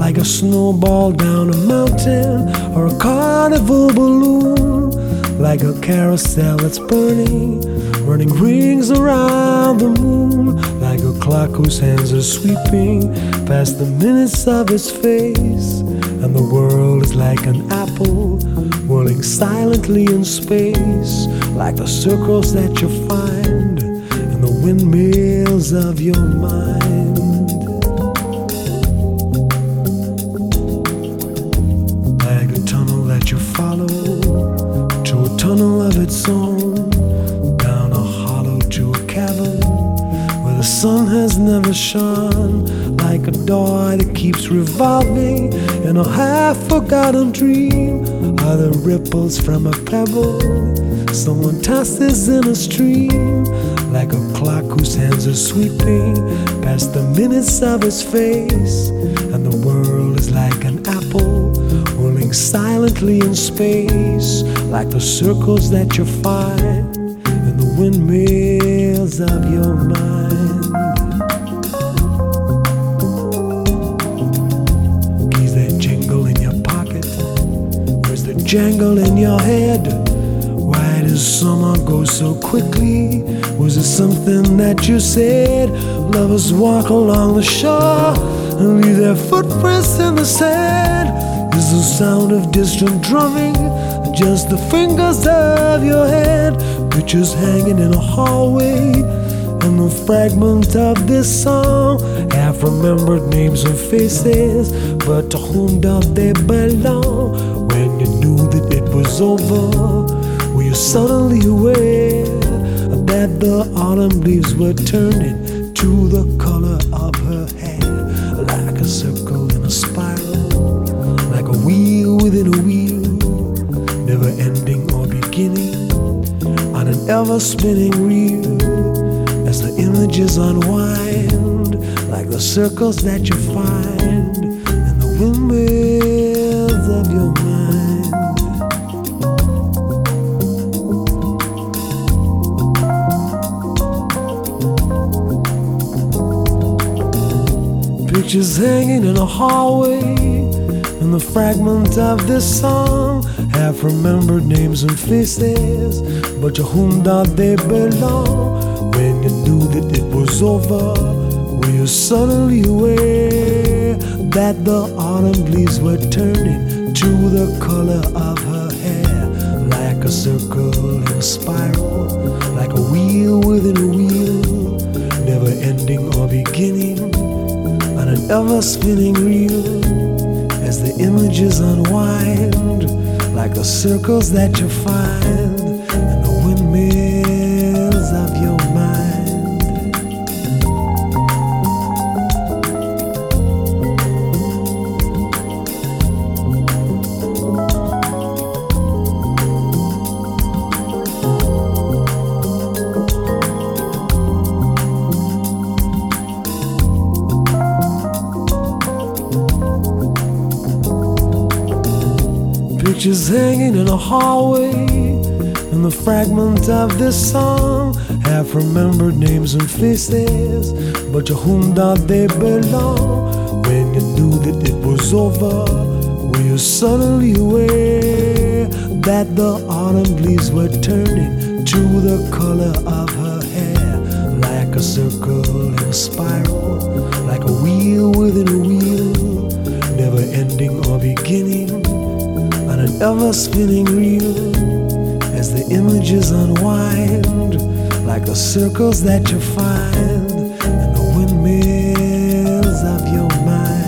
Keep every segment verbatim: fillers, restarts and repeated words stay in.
like a snowball down a mountain or a carnival balloon, like a carousel that's burning, running rings around the moon, like a clock whose hands are sweeping past the minutes of its face. And the world is like an apple whirling silently in space, like the circles that you find in the windmills of your mind. Like a tunnel that you follow to a tunnel of its own, down a hollow to a cavern where the sun has never shone, like a door that keeps revolving in a half-forgotten dream, are the ripples from a pebble someone tosses in a stream, like a clock whose hands are sweeping past the minutes of its face. And the world is like an apple rolling silently in space, like the circles that you find in the windmills of your mind. Keys that jingle in your pocket, where's the jangle in your head? Why does summer go so quickly? Was it something that you said? Lovers walk along the shore and leave their footprints in the sand. Is the sound of distant drumming just the fingers of your hand? Pictures hanging in a hallway, and the fragment of this song, half-remembered names and faces, but to whom do they belong? When you knew that it was over, were you suddenly aware that the autumn leaves were turning to the color of her hair? Like a circle in a spiral, like a wheel within a wheel, never ending or beginning, on an ever-spinning reel, as the images unwind, like the circles that you find in the windmills of your mind. Pictures hanging in a hallway, and the fragment of this song, half-remembered names and faces, but to whom do they belong? When you knew that it was over, were you suddenly aware that the autumn leaves were turning to the color of her hair? Like a circle in a spiral, like a wheel within a wheel, never ending or beginning, on an ever-spinning reel, as the images unwind, like the circles that you find in the windmills of your mind. Pictures hanging in a hallway, and the fragment of this song, half-remembered names and faces, but to whom do they belong? When you knew that it was over, were you suddenly aware that the autumn leaves were turning to the color of her hair? Like a circle in a spiral, like a wheel within a wheel, never ending or beginning, on an ever-spinning reel, as the images unwind, like the circles that you find in the windmills of your mind.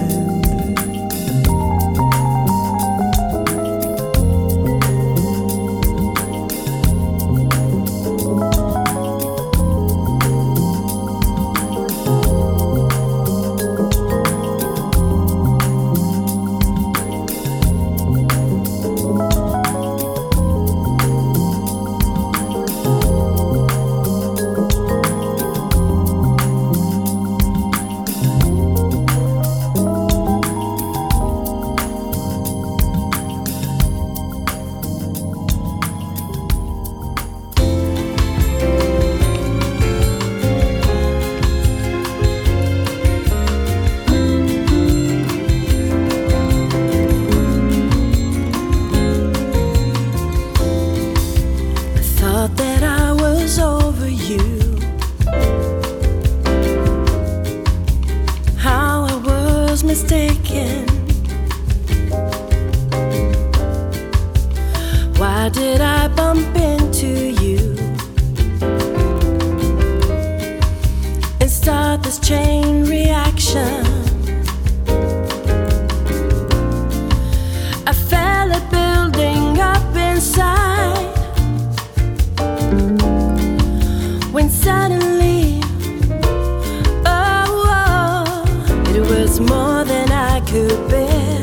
could bear,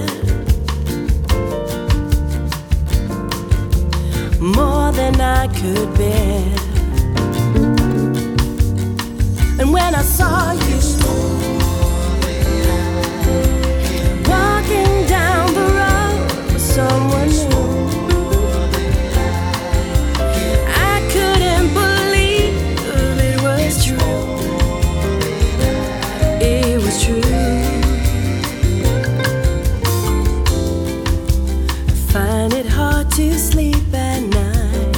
more than I could bear. And when I saw you walking down the road with someone new, I couldn't believe it was true. It was true. I find it hard to sleep at night.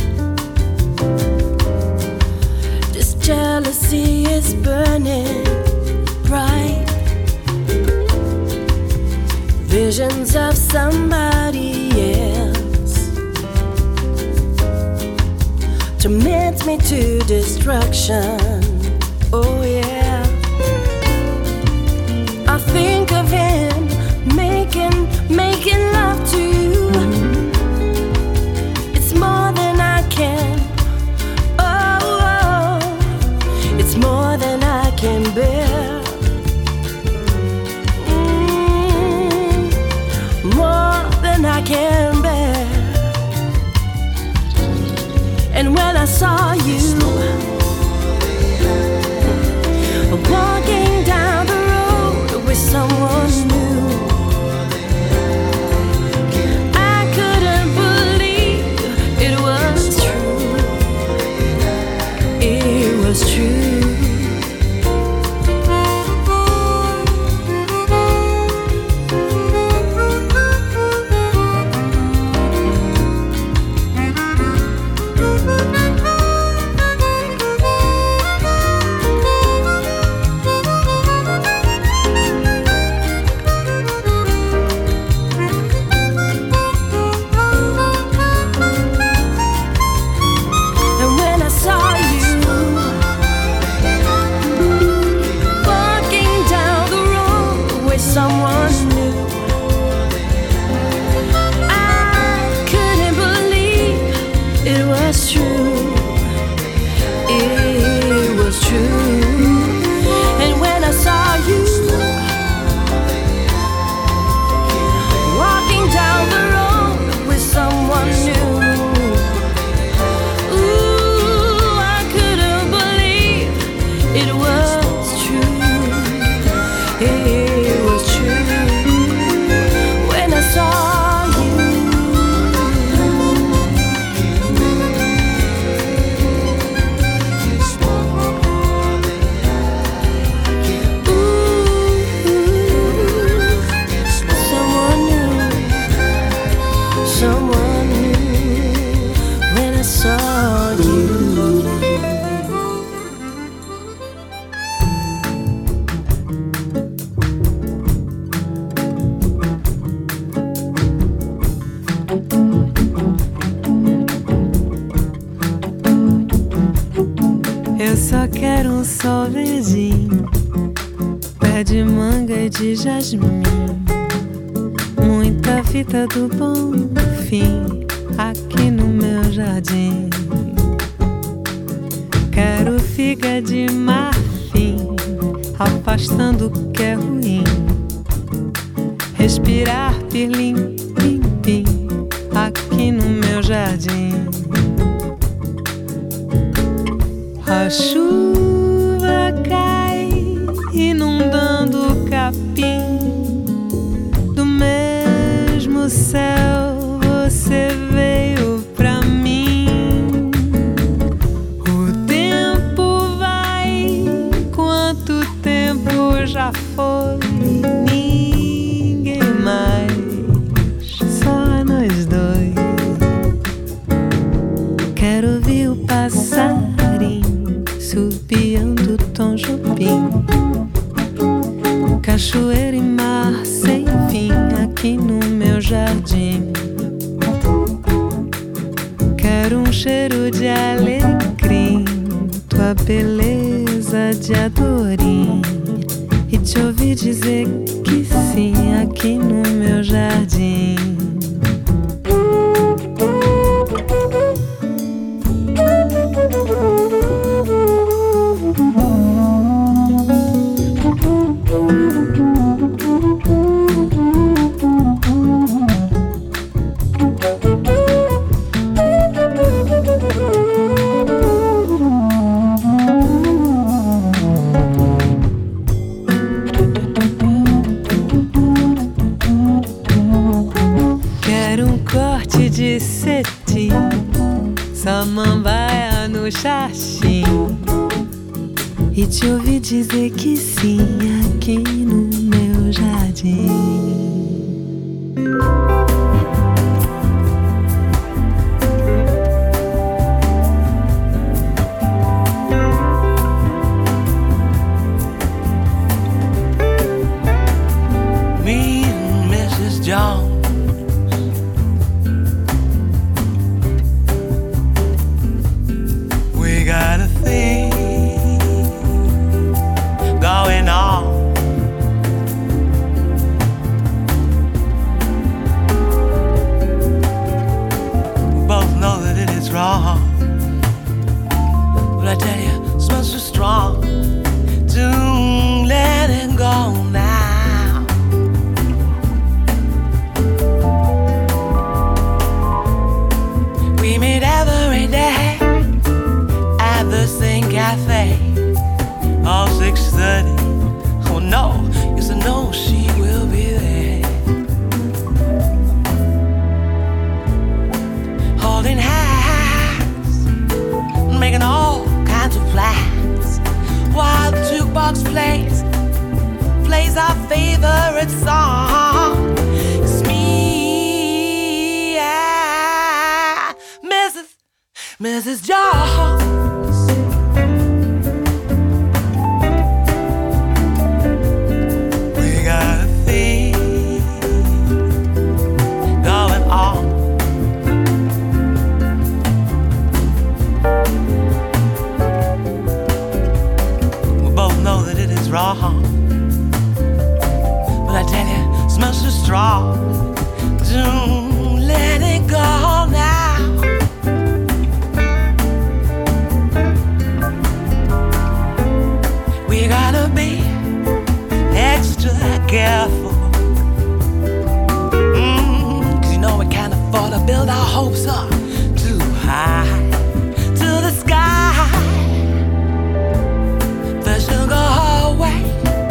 This jealousy is burning bright. Visions of somebody else torment me to destruction. Oh yeah, I think of him making, making love to you. It's more than I can. Oh, oh, it's more than I can bear. Mm, more than I can bear. And when I saw you walking down the road with someone new, I couldn't believe it was true. It was true. Eu só quero um sol verdinho, pé de manga e de jasmim, muita fita do bom fim aqui no meu jardim. Quero figa de marfim, afastando o que é ruim, respirar pirlim, pim, pim aqui no meu jardim. A chuva cai, inundando o capim. Do mesmo céu você veio pra mim. O tempo vai, quanto tempo já foi? Ninguém mais, só nós dois. Quero ouvir o passarinho subiando Tom Jobim, cachoeira e mar sem fim aqui no meu jardim. Quero um cheiro de alecrim, tua beleza de adorim, e te ouvir dizer que sim aqui no meu jardim. disseste, samambaia no xaxim, e te ouvi dizer que sim aqui no meu jardim. Missus Jones. We got a thing going on. We both know that it is wrong, but I tell you, it smells so strong. Don't let it go now. We gotta be extra careful, mm, 'cause you know we can't afford to build our hopes up too high to the sky. First you'll go her way,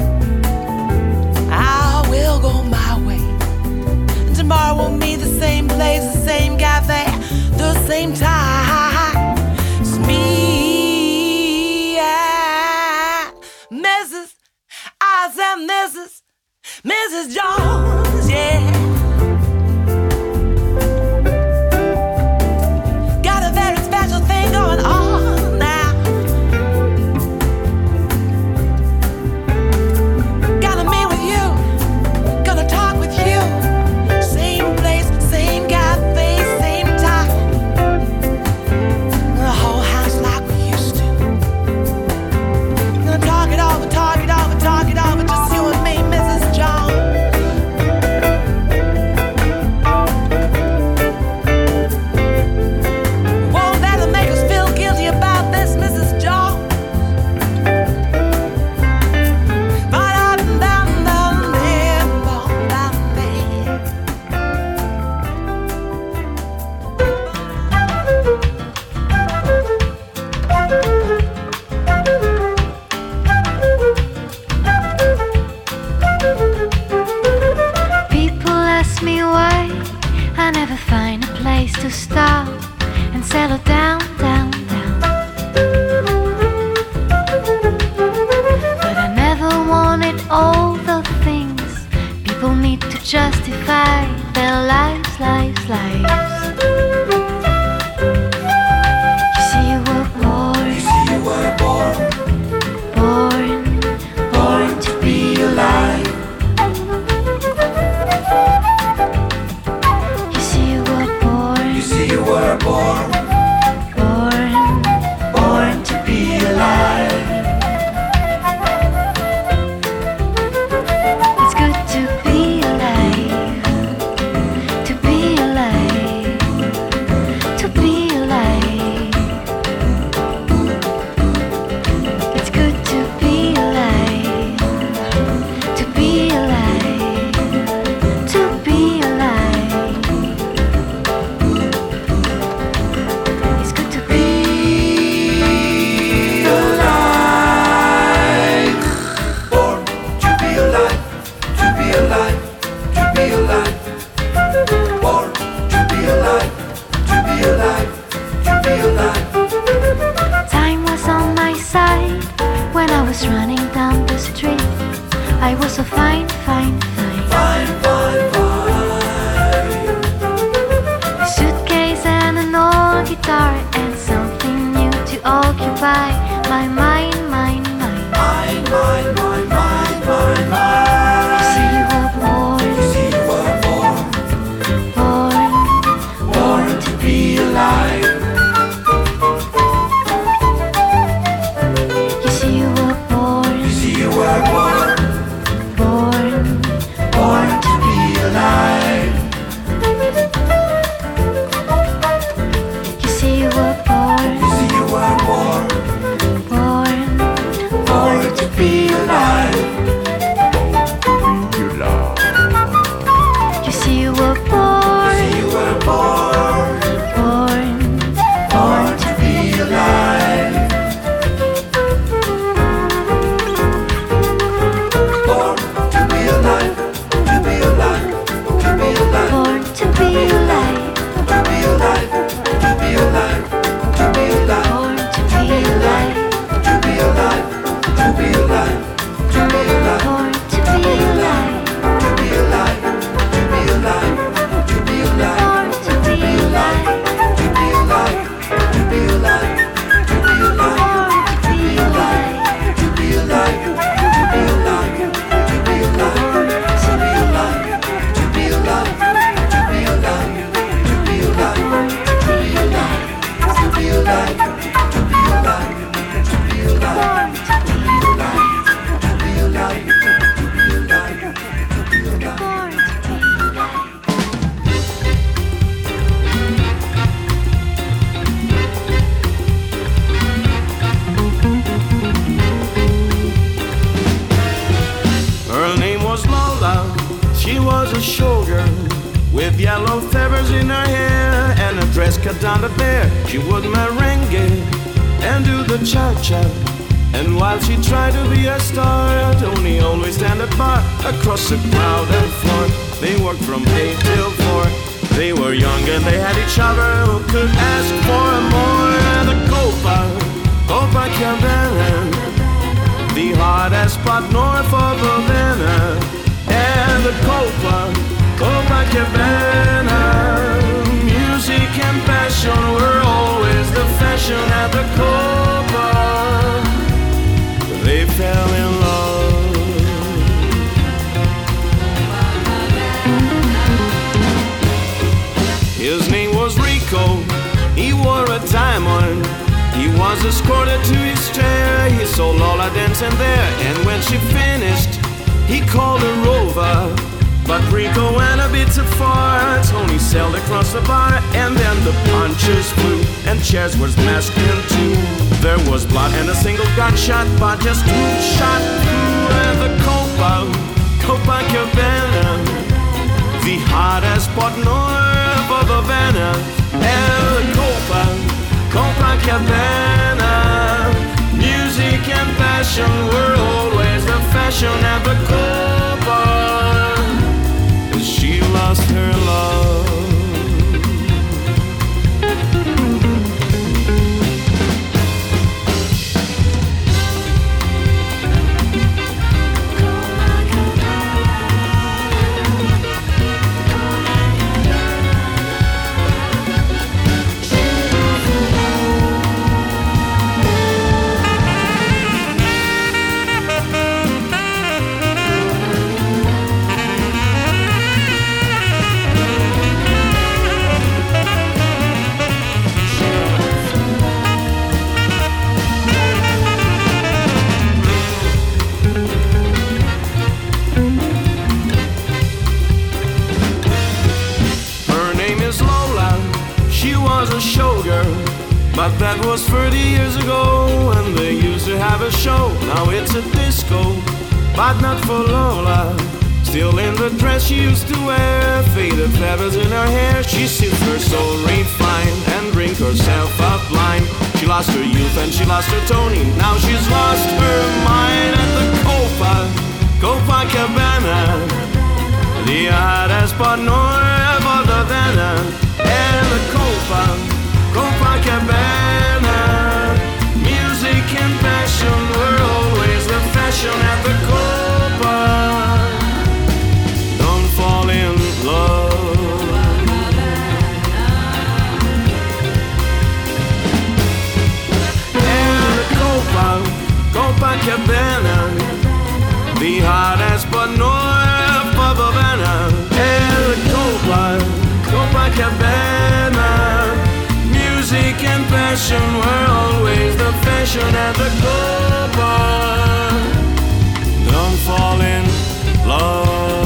I will go my way, and tomorrow we'll meet the same place, the same cafe, the same time. It's me, yeah. Missus I said Missus Missus Jones, yeah. Got a very special thing going on now. Gotta meet with you, gonna talk with you. Same place, same cafe, same time. The whole house like we used to. Gonna talk it over, talk it over, talk it over, just you and me, Missus Jones. Won't let them make us feel guilty about this, Missus Jones. People ask me why I never find a place to stop and settle down, down, down. But I never wanted all the things people need to justify their lives, lives, lives. You see, you were born, you see, you were born, born, born to be alive. You see, you were born, you see, you were born, born, born to be alive. It's good to be alive, to be alive. was running down the street. I was so fine, fine, fine. Fine, fine, fine. A suitcase and an old guitar and something new to occupy my mind, mind, mind. Mine, mine, mine, mine, mine, mine. You see, you were born, You see, you were born, born, born to be alive. You see, you were born, You see, you were born, born, born to be alive. You see, you were born, You see, you were born, born, born to be alive. You see, you were born, See, you were born, born, born to be alive. Born to be alive, to be alive, to be alive, born to be alive, to be alive, to be alive, to be alive, born to be alive, to be alive, to be alive, to be alive, born to be alive, to be alive, to be alive, to be alive, born to be alive, to be alive, to be alive, to be alive. born to be alive, To be alive, to be alive, to be alive, to be alive, to be alive, to be alive, to be alive, to be alive, to be alive, to be alive, to be alive, to be alive, to be alive, to be alive, to be alive. born to be alive. Her name was Lola, she was a showgirl with yellow feathers in her hair and a dress cut down to bare. She would merengue and do the cha-cha. And while she tried to be a star, Tony always stand apart across the crowded floor. They worked from eight till four. They were young and they had each other. Who could ask for more? The Copa, Copacabana, the hottest spot north of Havana. And the Copa, Copacabana, music and passion were always the fashion at the Copa. They fell in love. His name was Rico, he wore a diamond. He was escorted to his chair. He saw Lola dancing there, and when she finished, he called her over. But Rico went a bit too far. Tony sailed across the bar, and then the punches flew, and chairs were smashed in two. There was blood and a single gunshot, but just two shot through. And the Copa, Copacabana, the hottest spot north of Havana. And the Copa, Copacabana, music and passion were always the fashion at the Copa. She lost her love. But that was thirty years ago, when they used to have a show. Now it's a disco, but not for Lola. Still in the dress she used to wear, faded feathers in her hair. She sips her soul refined and drink herself up blind. She lost her youth and she lost her Tony. Now she's lost her mind at the Copa, Copacabana, the hottest spot north of Havana. And the Copa, Copacabana, music and passion were always the fashion at the Copa. Don't fall in love. And the Copa, Copacabana, the hottest but north of Havana. And the Copa, Copacabana, music and passion were always the fashion at the Copa. Don't fall in love.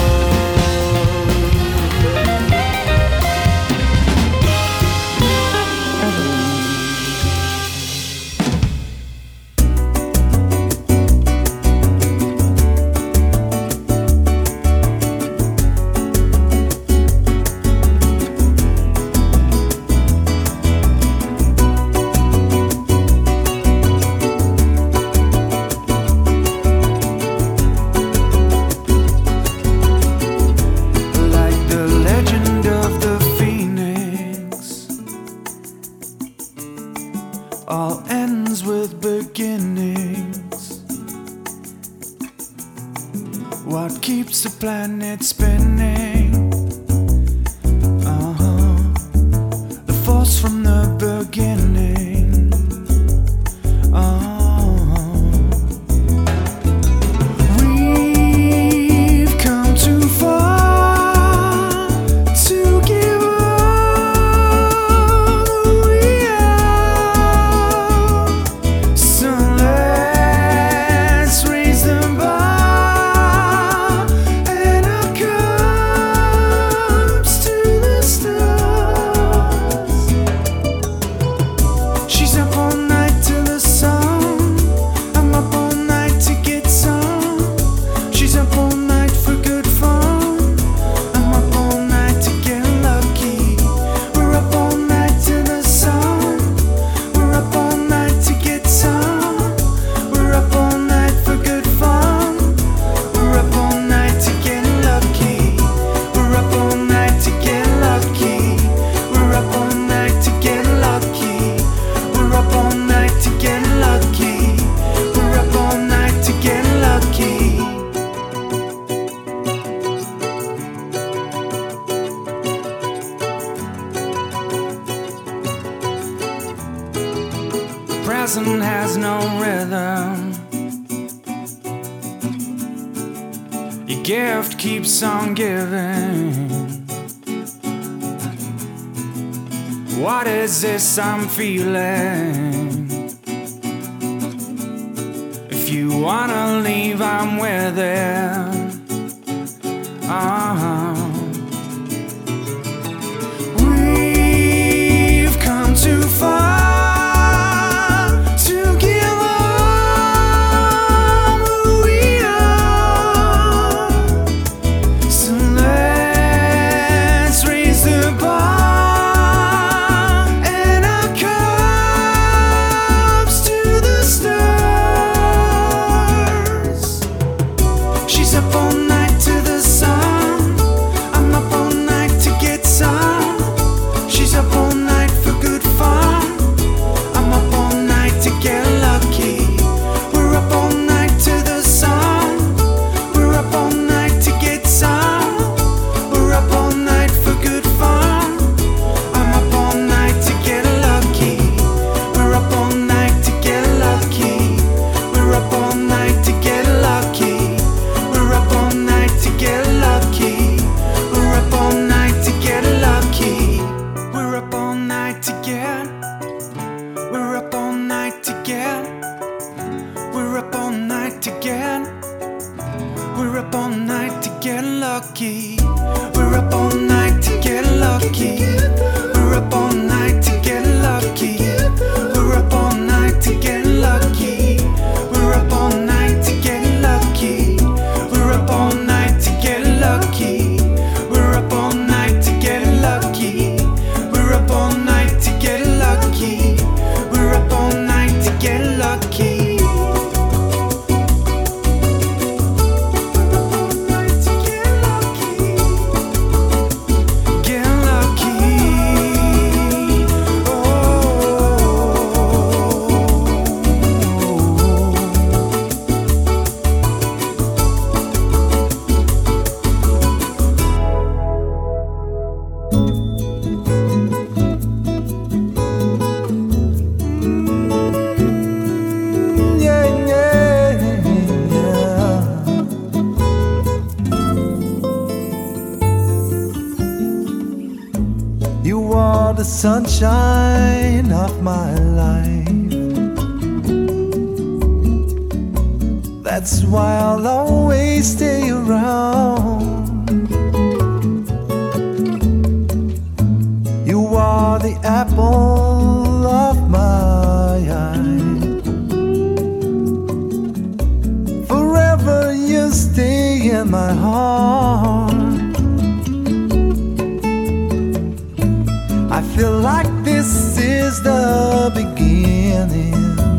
All ends with beginnings. What keeps the planet spinning? Uh-huh. The force from the beginning. Uh-huh. We've come too far to give up who we are. So let's raise the bar and our cups to the stars. She's up all night till the sun. I'm up all night to get some. She's up all night for good fun. I'm up all night to get lucky. We're up all night to the sun. We're up all night to get some. We're up all night for good fun. We're up all night to get lucky. We're up all night to get lucky. We're up all night to get lucky. We're up all night to get lucky. We're up all night to get lucky. The present has no rhythm. Your gift keeps on giving. What is this I'm feeling? If you wanna leave, I'm with it. Uh-huh. We've come too far to give up who we are. So let's raise the bar and our cups to the stars. She's up all night to the sun. I'm up all night to get some. She's up all night for good fun. I'm up all night to get lucky. We're up all night to the sun. We're up all night to get some. We're up all night for good fun. I'm up all night to get lucky. We're up all night to get lucky. We're up all night to get lucky. We're up all night to get lucky. We're up all night to get lucky. We're up all night to get. We're up all night to get. We're up all night to get. We're up all night to get lucky. We're up all night to get lucky. We're up all night to get lucky. We're up all night to get lucky. We're up all night to get lucky. We're up all night to get lucky. We're up all night to get lucky. We're up all night to get lucky. We're up all night to get lucky. Get lucky. You are the sunshine of my life. That's why I'll always stay around. You are the apple of my eye. Forever you stay in my heart. I feel like this is the beginning.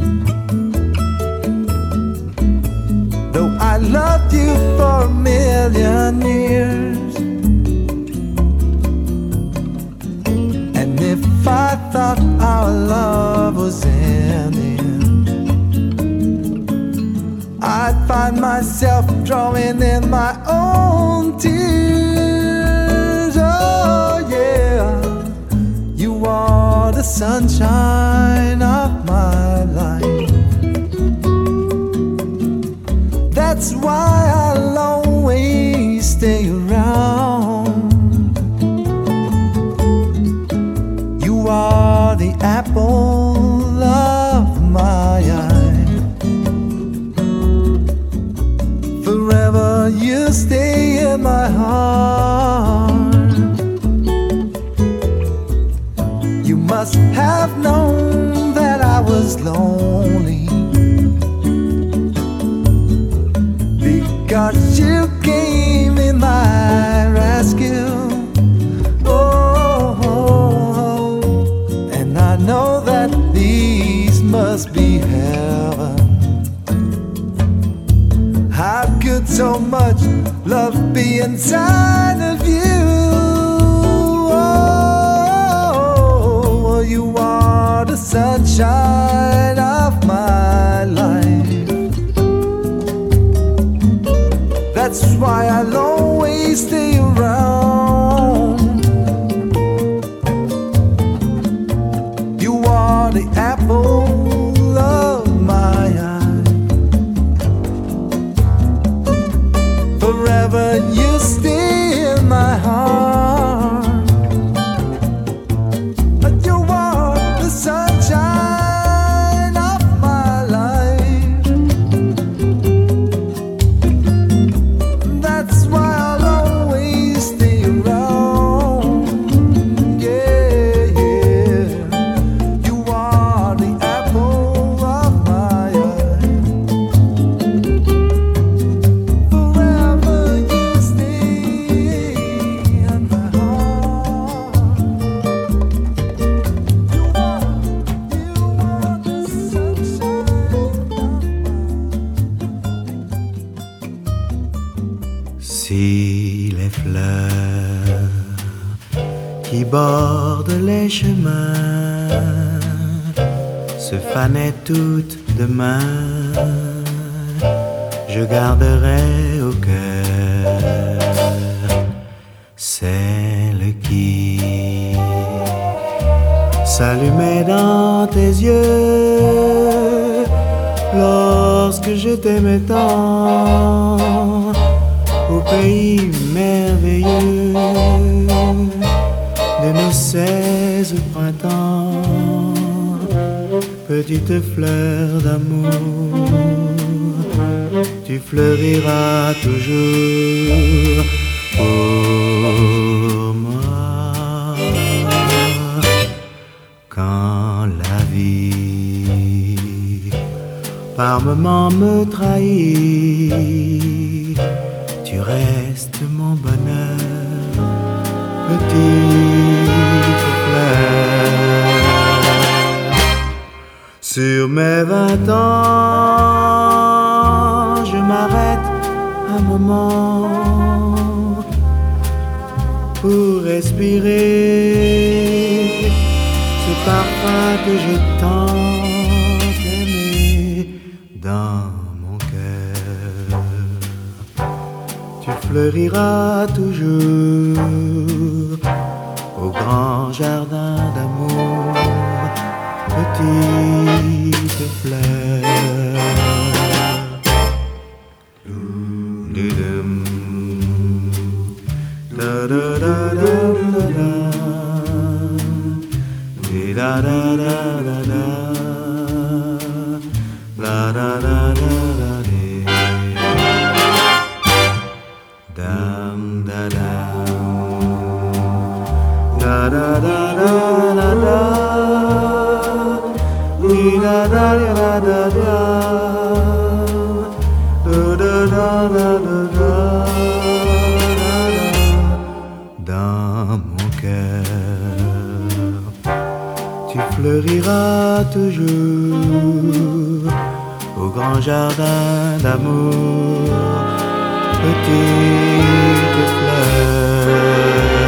Though I loved you for a million years, and if I thought our love was ending, I'd find myself drawing in my own tears. Oh yeah, you are the sunshine of my life. That's why I'll always stay around. You are the apple of my eye. Forever you stay in my heart. You must have known that I was lonely, because you came in my rescue. Oh, oh, oh, and I know that these must be heaven. How could so much love be inside of you? Oh, you are the sunshine of my life. That's why I'll always stay around. You are the apple of my eye. Forever you stay in my heart. You are the sunshine of my life. That's why I'll always stay around. Yeah, yeah. You are the apple of my eye. Forever you stay in my heart. You are, you are the sunshine of my Si les fleurs qui bordent les chemins se fanaient toutes demain, je garderai au cœur celle qui s'allumait dans tes yeux lorsque je t'aimais tant. Au pays merveilleux de nos seize printemps, petite fleur d'amour, tu fleuriras toujours pour moi. Quand la vie par moments me trahit, tu restes mon bonheur, petite fleur. Sur mes vingt ans, je m'arrête un moment pour respirer ce parfum que j'ai tant aimé dans mon cœur. Tu fleuriras toujours au grand jardin d'amour, petite fleur. Da da da da da da. da da da da da, la da da da da de, dam da dam, da da da da da da, ni da da da da da, da da da da da da. Dans mon cœur, tu fleuriras toujours au grand jardin d'amour, petite fleur.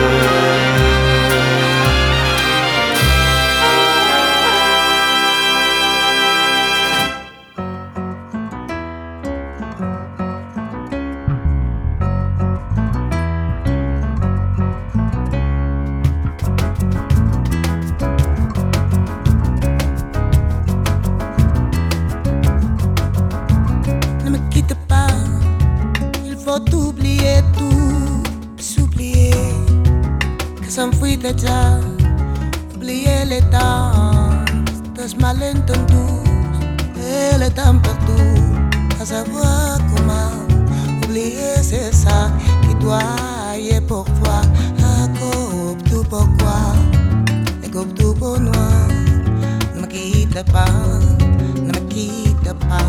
Déjà, oublier les temps, des malentendus et le temps partout. À savoir comment oublier, c'est ça qui doit y être pour toi. À coupe tout pourquoi, et coupe tout pour moi. Ne me quitte pas, ne me quitte pas.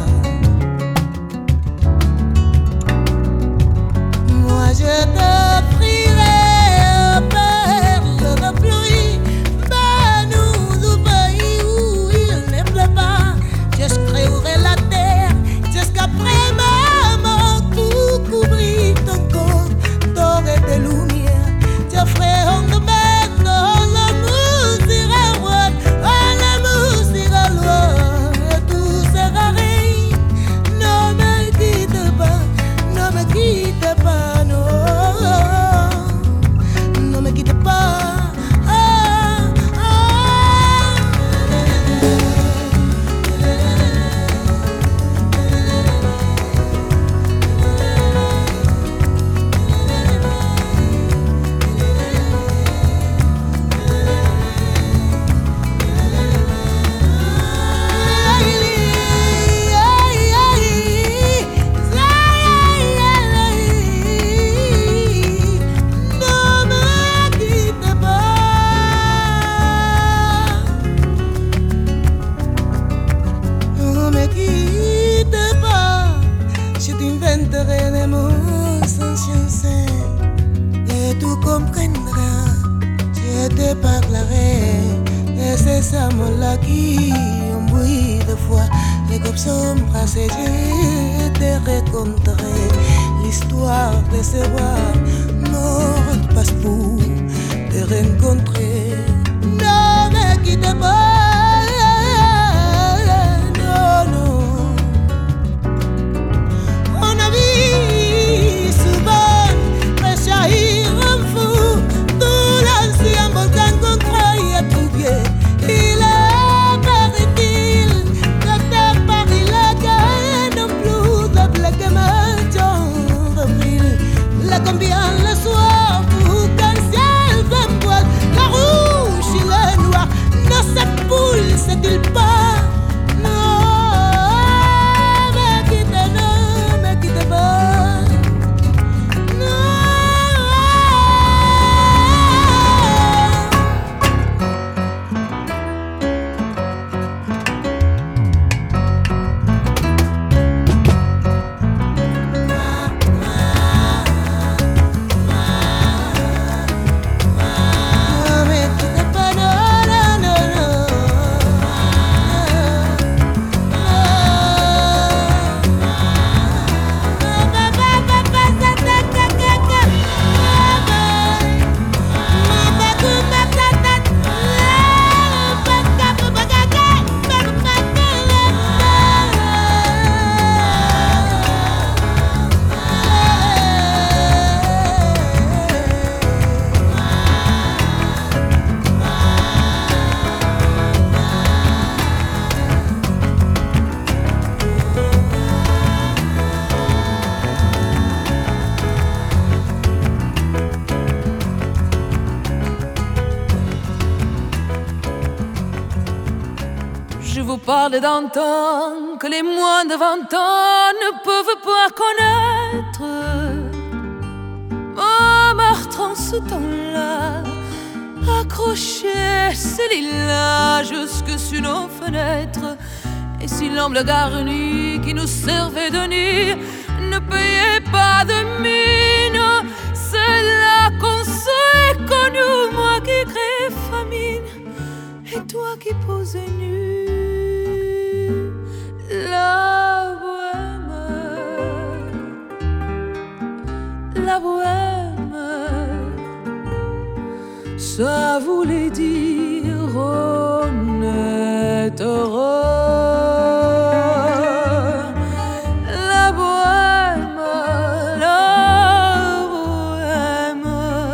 Moi je te prierai. Combien le soir, pour qu'un ciel s'emboîte, la vous parle d'un temps que les moins de vingt ans ne peuvent pas connaître. Montmartre en ce temps-là accrochait ses lilas jusque sur nos fenêtres. Et si l'amble garni qui nous servait de nid ne payait pas de mine, c'est là qu'on s'est connu, moi qui crée famine et toi qui posais nu. La bohème, la bohème, ça voulait dire honnête heureux. La bohème, la bohème,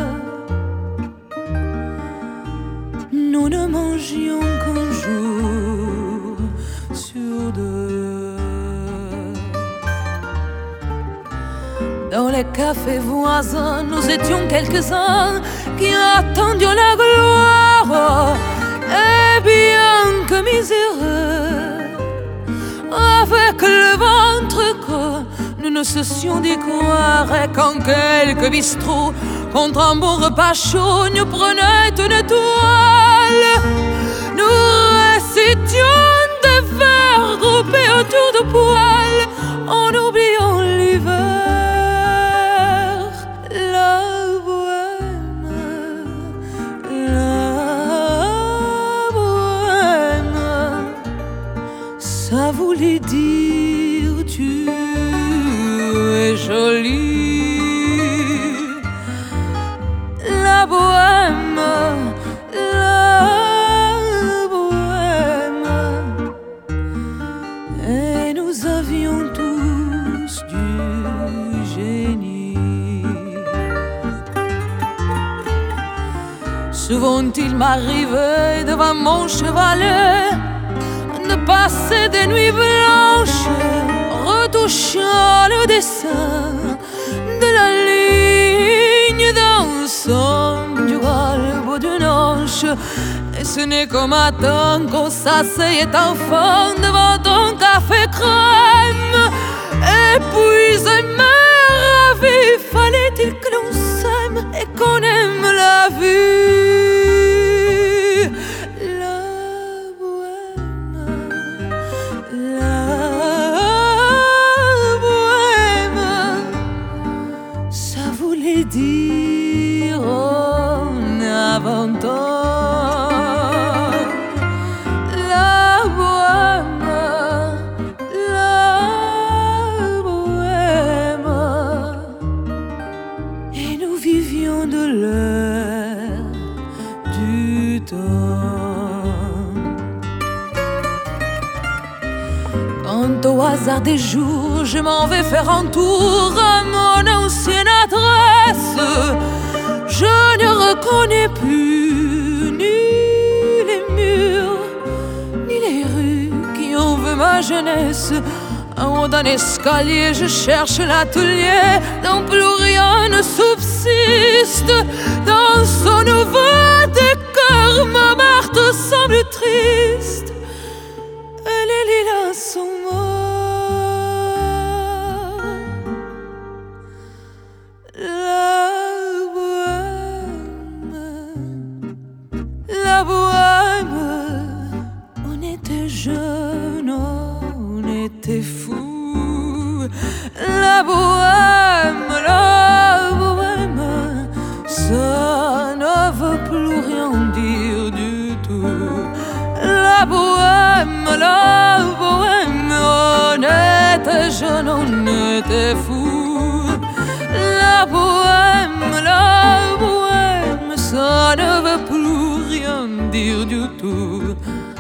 nous ne mangions qu'un jour sur deux. Dans les cafés voisins, nous étions quelques-uns qui attendions la gloire. Et bien que miséreux, avec le ventre creux, nous ne cessions d'y croire. Et quand quelques bistrots, contre un bon repas chaud, nous prenaient une étoile, nous récitions des vers groupés autour de poêles, en oubliant l'hiver. La bohème, la bohème, ça voulait dire tu es jolie. La bohème, la bohème, et nous avions tous du génie. Souvent il m'arrivait devant mon chevalet de passer des nuits blanches, retouchant le dessin de la ligne d'ensemble du galbe d'une hanche. Et ce n'est qu'au matin qu'on s'asseyait enfin devant un café crème. Et puis aimer ravi, fallait-il que l'on s'aime et qu'on aime la vie. Dire en avant-temps la bohème, la bohème, et nous vivions de l'air du temps. Quand au hasard des jours je m'en vais faire un tour à mon ancienne adresse, je ne reconnais plus ni les murs, ni les rues qui ont vu ma jeunesse. En haut d'un escalier, je cherche l'atelier dont plus rien ne subsiste. Dans son nouveau décor, ma Marthe semble triste et les lilas sont morts. La bohème, on était jeunes, on était fous. La bohème, la bohème, ça ne veut plus rien dire du tout. La bohème, la bohème, on était jeunes, on était fous. La bohème, la bohème, ça ne veut plus rien dire du tout.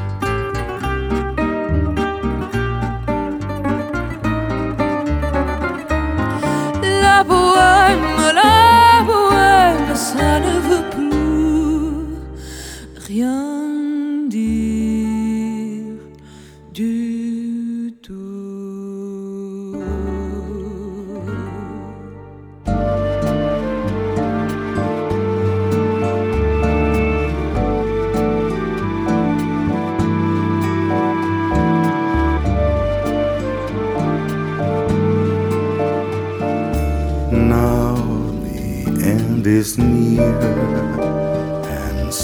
La bohème, la bohème, ça ne veut plus rien dire du tout.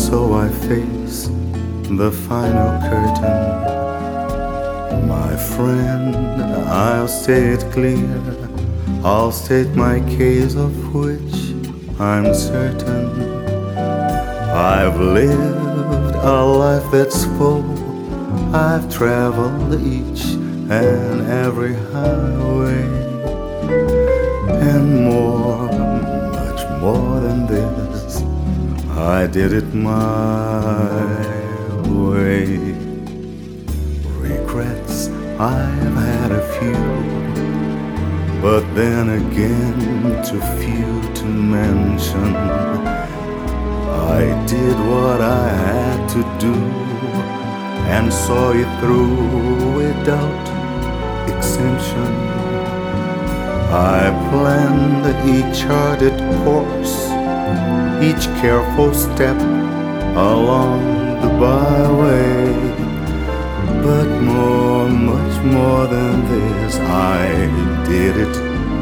so I face the final curtain. My friend, I'll say it clear, I'll state my case of which I'm certain. I've lived a life that's full, I've traveled each and every highway, and more, much more than this, I did it my way. Regrets, I've had a few, but then again too few to mention. I did what I had to do and saw it through without exemption. I planned each charted course, each careful step along the byway, but more, much more than this, I did it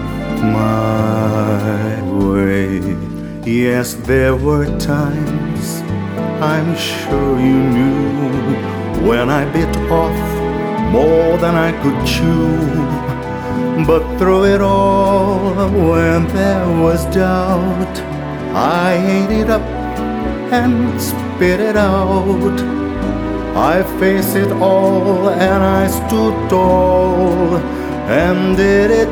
my way. Yes, there were times, I'm sure you knew, when I bit off more than I could chew. But through it all, when there was doubt, I ate it up and spit it out. I faced it all and I stood tall and did it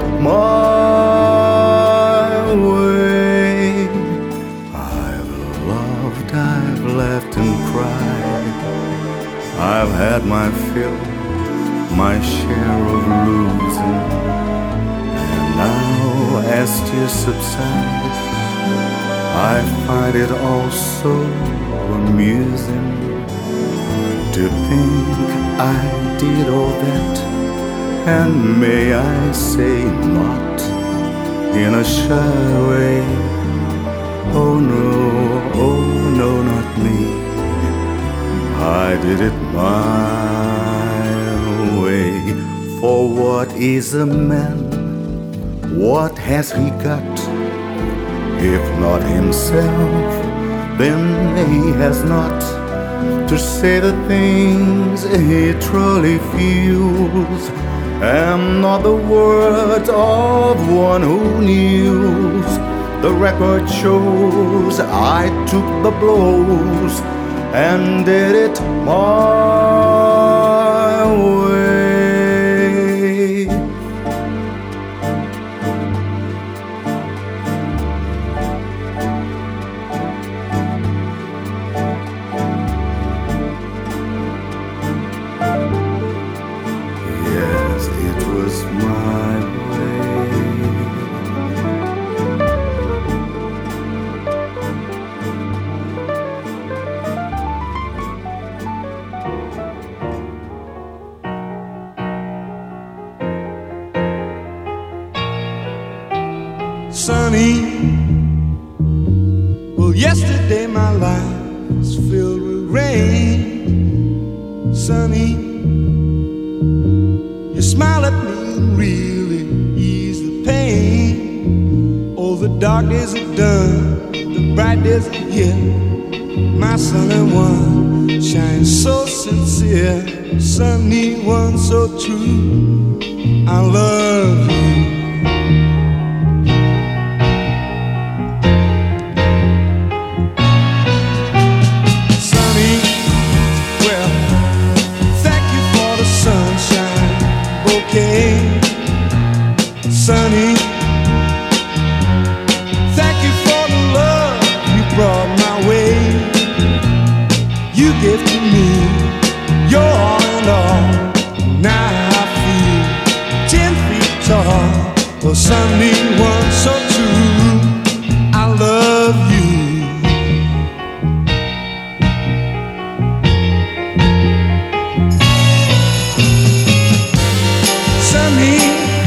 my way. I've loved, I've laughed and cried, I've had my fill, my share of losing. And now as tears subside, I find it all so amusing to think I did all that, and may I say not in a shy way. Oh no, oh no, not me, I did it my way. For what is a man? What has he got? If not himself, then he has not to say the things he truly feels, and not the words of one who kneels. The record shows I took the blows and did it my way. Yes, it was my way. Sunny, well, yesterday my life was filled with rain. Sunny, you smile at me and really ease the pain. Oh, the dark days are done, the bright days are here. My sunny one shines so sincere, sunny one so true. I love you. Sunny, thank you for the love you brought my way. You gave to me your all and all. Now I feel ten feet tall. Oh, sunny one so true, I love you. Sunny,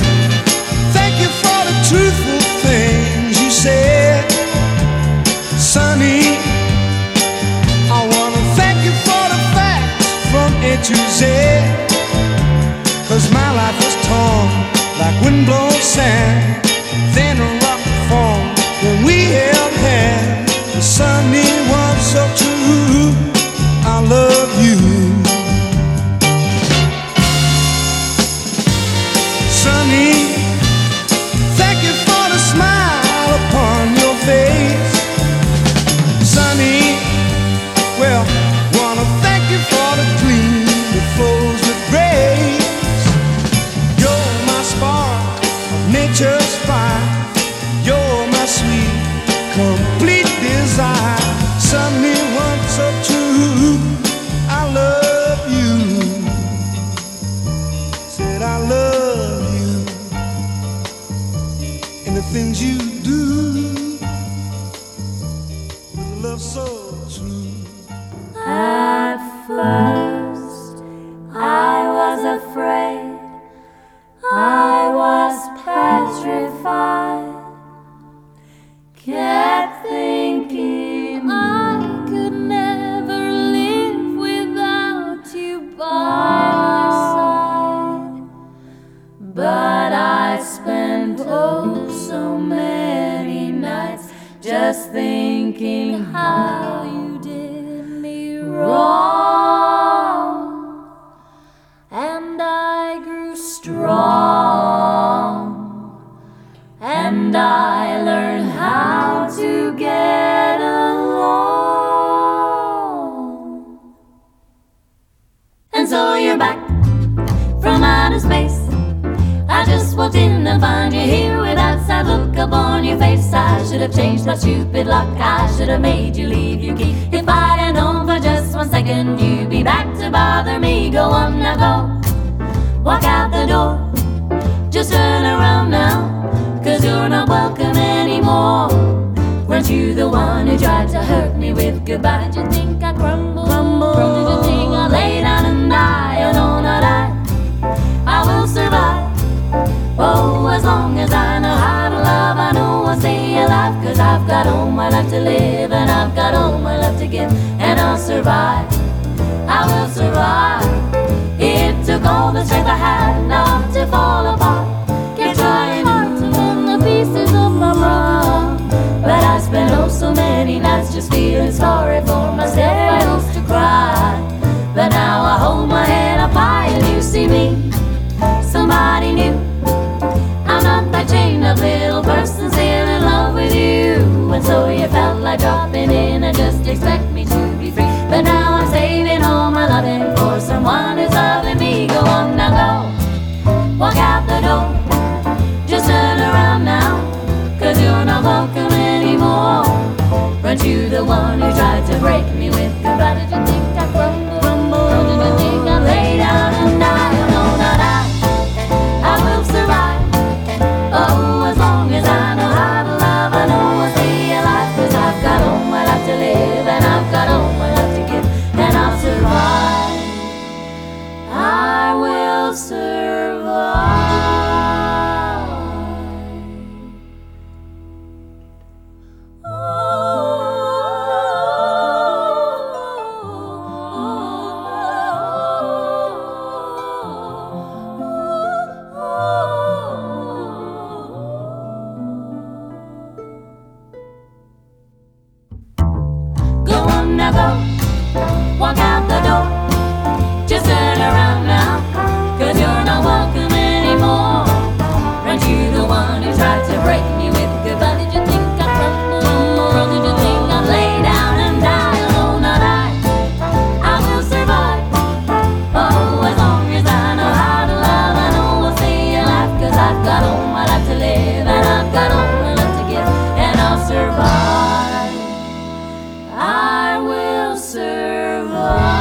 truthful things you said. Sunny, I wanna thank you for the facts from A to Z. Cause my life was torn like windblown sand, then a rock formed when we held hands. The sunny one so true. Well, wanna thank you for the gleam that flows with grace. You're my spark, nature's fire. You're my sweet, complete desire. Something once so true. I love you. Said I love you. And the things you do. With love so true. At first, I was afraid, I was petrified, kept thinking I could never live without you by my side. But I spent oh so many nights just thinking how you wrong, and I grew strong, and I learned how to get along. And so you're back from outer space. I just walked in and find you here with that sad look upon your face. I should have changed my stupid luck. I should have made you leave your key. If I'd have known for just one second you'd be back to bother me. Go on now, go. Walk out the door. Just turn around now, cause you're not welcome anymore. Weren't you the one who tried to hurt me with goodbye? Did you think I'd crumble? Crumble. Did you think I'd lay down and die? Oh no, not I. I will survive. Oh, as long as I know how to love, I know I'll stay alive. Cause I've got all my life to live, and I've got all my love to give, and I'll survive. I will survive. It took all the strength I had not to fall apart. Kept trying hard to mend the pieces of my heart, but I spent oh so many nights just feeling sorry for myself. I used to cry, but now I hold my head up high and you see me, somebody new. I'm not that chained up little person still in love with you. And so you felt like dropping in and just expect me to be free. But now I'm saving all my loving for someone who's loving me. Go on now, go. Walk out the door. Just turn around now, cause you're not welcome anymore. Weren't you the one who tried to break me with goodbye? Did you think I crumbled? Crumble. Did you think I'd lay down and die? Oh no, not I. I will survive. Oh, as long as I know how to love, I know I'll stay alive. Cause I've got all my life to live, and I've got all my love to give, and I'll survive. I will survive. Walk out the door. Just turn around now, cause you're not welcome anymore. Aren't you the one who tried to break me with goodbye? Did you think I'd crumble? Or did you think I'd lay down and die? Oh, not I. I will survive. Oh, as long as I know how to love, I know I'll stay alive. Cause I've got all my life to live, and I've got all my love to give, and I'll survive. I will survive.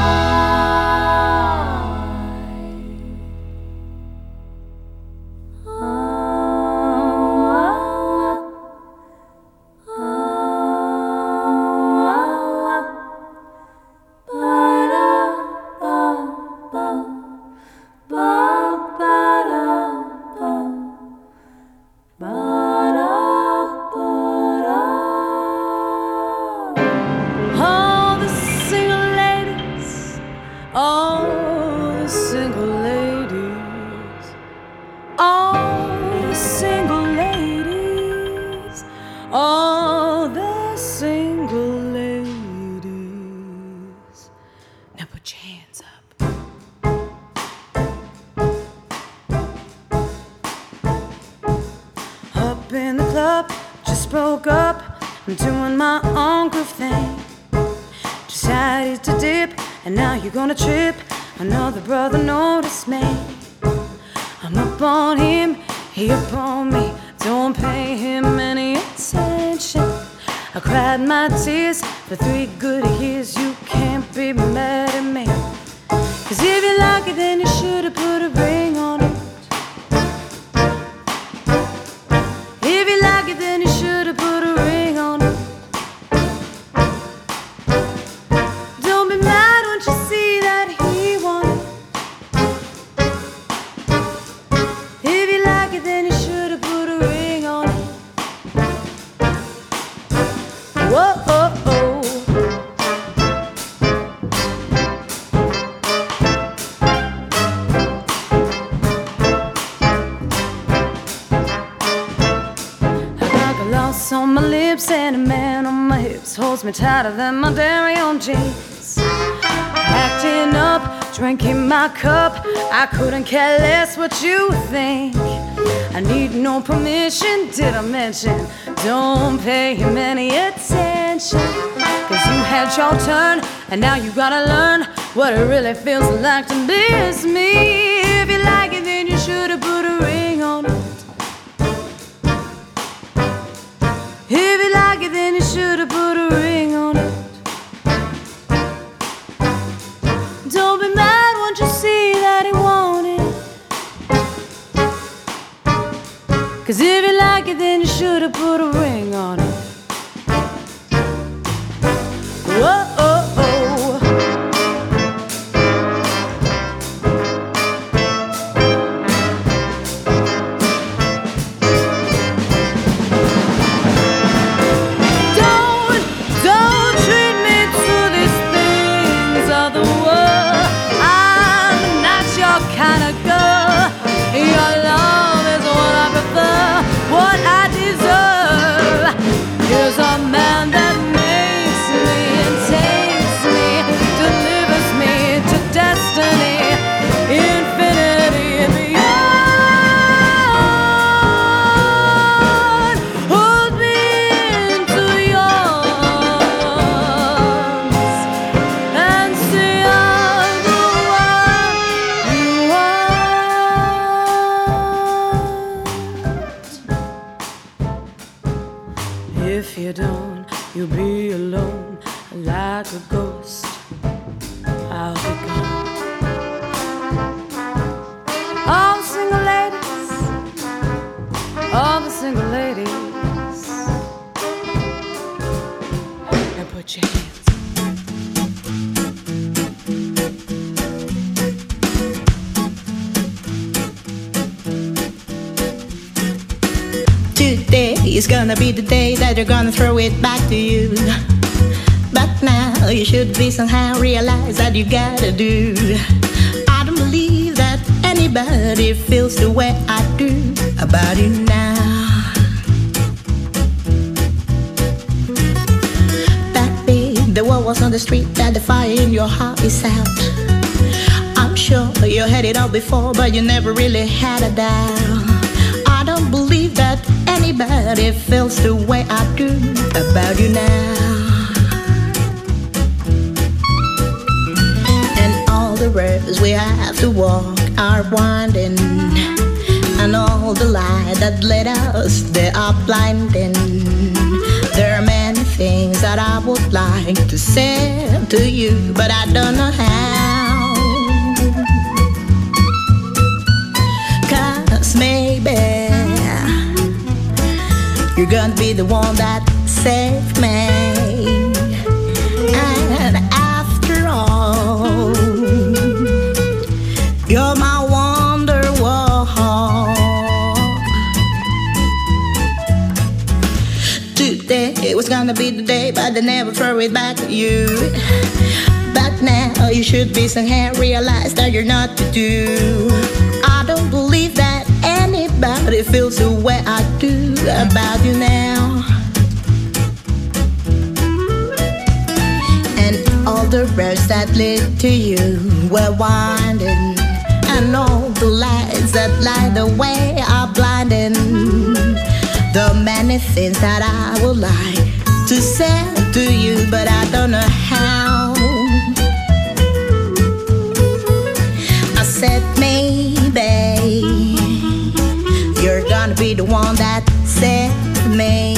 All the single ladies, now put your hands up. Up in the club, just broke up, I'm doing my own groove thing. decided to dip, and now you're gonna trip. Another brother noticed me. I'm up on him, he up on me. Don't pay him any attention. I cried my tears for three good years. You can't be mad at me. Cause if you like it, then you should've put a ring on it. If you like it, then you should've put a ring on it. Don't be mad, won't you see that he wanted. If you like it, then you should've put a ring on it. Whoa, oh, oh. On my lips and a man on my hips holds me tighter than my dairy on jeans. Acting up, drinking my cup, I couldn't care less what you think. I need no permission, did I mention? Don't pay him any attention. Cause you had your turn, and now you gotta learn what it really feels like to miss me. If you like it, then you should've put a ring on it. If you like it, then you should've put a ring on it. Don't be mad, won't you see that he wanted. Cause if you like it, then you should've put a ring on it. Whoa, oh, oh. If you don't, you'll be alone like a ghost. I'll be gone. All the single ladies, all the single ladies, now put your hands. Today is gonna be the day that they're gonna throw it back to you. But now you should be somehow realize that you gotta do. I don't believe that anybody feels the way I do about you now. Back then, the word was on the street that the fire in your heart is out. I'm sure you had it all before, but you never really had a doubt. I don't believe that anybody feels the way I do about you now. And all the roads we have to walk are winding, and all the light that led us, they are blinding. There are many things that I would like to say to you, but I don't know how. Cause maybe you're gonna be the one that saved me. And after all, you're my wonderwall. Today was gonna be the day, but they never throw it back to you. But now you should be somehow realize that you're not to do. I don't believe that anybody feels the way I do about you now. And all the roads that lead to you were winding, and all the lights that light the way are blinding. The many things that I would like to say to you, but I don't know how. that maybe you're gonna be the one that saved me.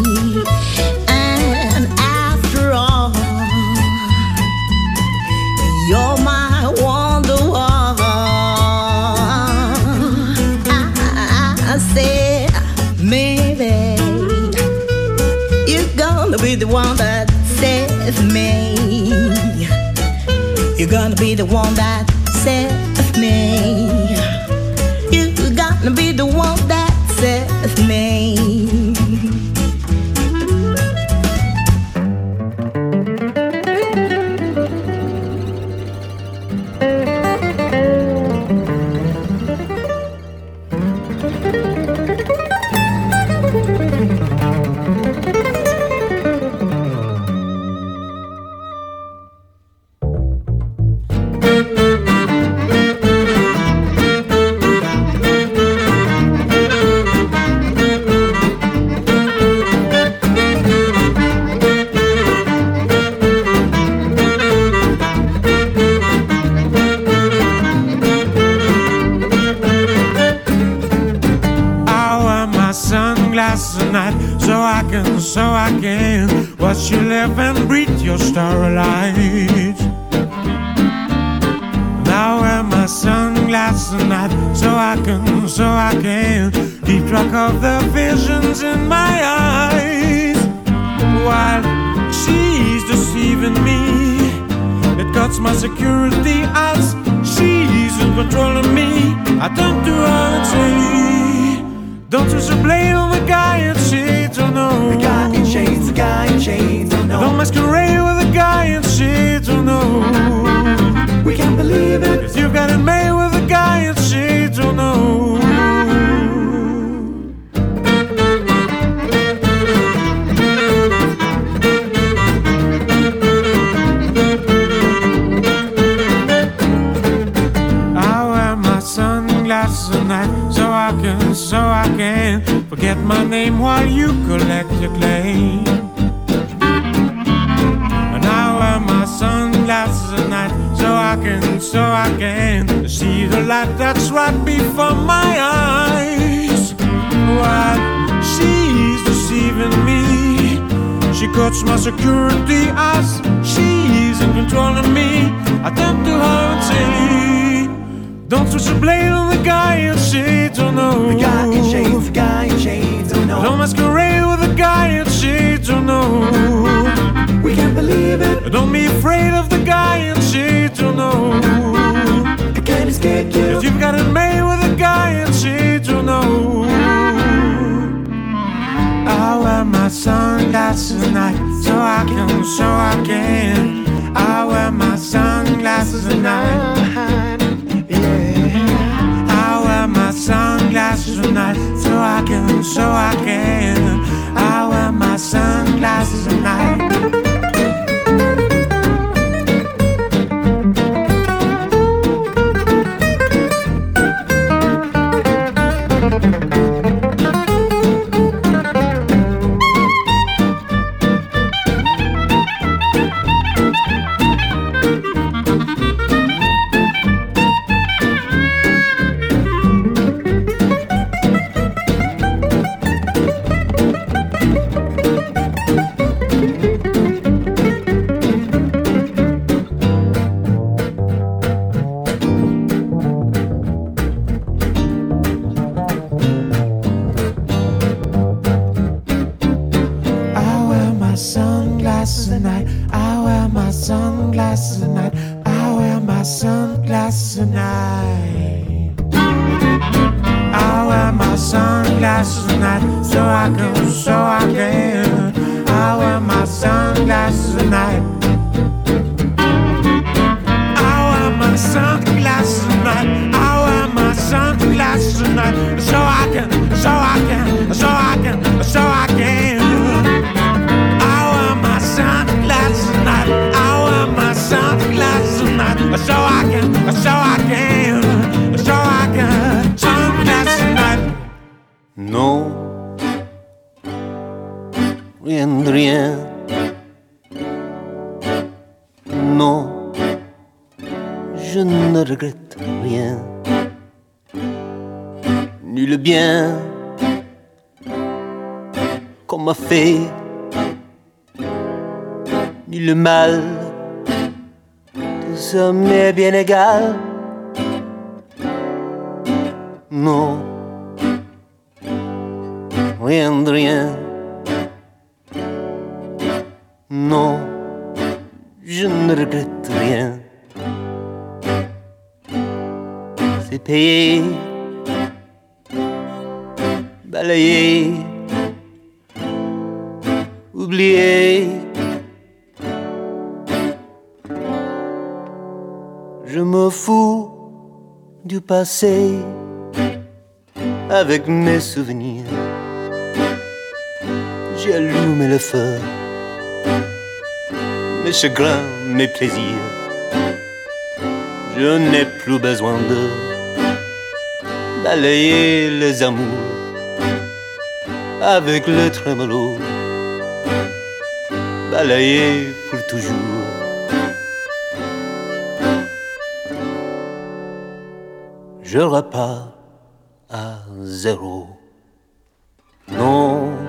And after all, you're my wonderwall. I, I said maybe you're gonna be the one that saved me. You're gonna be the one that saved me. You're gonna be the one that saved me. So I can watch you live and breathe your starlight. Now wear my sunglasses at night, so I can, so I can keep track of the visions in my eyes. While she's deceiving me, it cuts my security as she's in control of me. I turn to her and say, don't twist your blade on the guy in shades, oh no. The guy in shades, the guy in shades, oh no. Don't masquerade with the guy in shades, oh no. We can't believe it, 'cause you got it made with the guy in shades, oh no. At night, so I can, so I can forget my name while you collect your claim. And I wear my sunglasses at night, so I can, so I can see the light that's right before my eyes. While she's deceiving me, she cuts my security as she's in control of me. I turn to her and say, don't switch the blade on the guy in shades, oh no. The guy in shades, the guy in shades, oh no. Don't masquerade with the guy in shades, oh no. We can't believe it, don't be afraid of the guy in shades, oh no. I can't escape you, 'cause you've got it made with the guy in shades, oh no. I wear my sunglasses at night, so I can, so I can. I wear my sunglasses at night. My sunglasses at night, so I can, so I can. I wear my sunglasses at night. Sunglasses at night, I wear my sunglasses at night, I wear my sunglasses at night. I wear my sunglasses at night, so I can, so I can. I wear my sunglasses at night. I wear my sunglasses at night, I wear my sunglasses at night, so I can, so I can, so I can, so I can. Sunglasses at night, I wear my sunglasses at night, so I can, so I can, so I can. Sunglasses at night. Non, rien de rien. Non, je ne regrette rien, ni le bien qu'on m'a fait, ni le mal, tout ça m'est bien égal. Non, rien de rien. Non, je ne regrette rien. C'est payé, balayé, oublié. Je me fous du passé avec mes souvenirs. J'ai allumé le feu, mes chagrins, mes plaisirs. Je n'ai plus besoin de balayer les amours avec le trémolo, balayer pour toujours. Je repars à zéro. Non,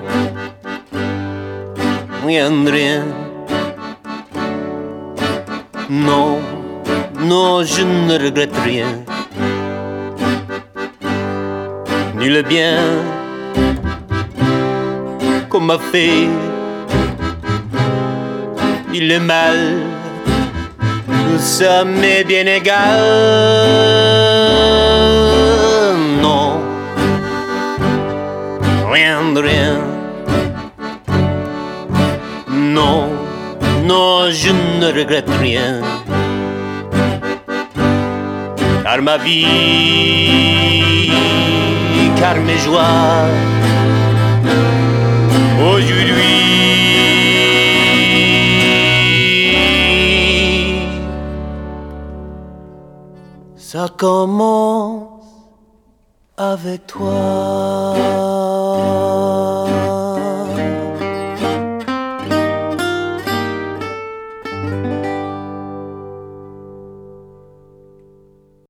rien de rien. Non, non, je ne regrette rien. Ni le bien qu'on m'a fait, ni le mal, tout ça m'est bien égal. Non, rien de rien. Non, non, je ne regrette rien. Car ma vie, car mes joies, aujourd'hui, ça commence avec toi.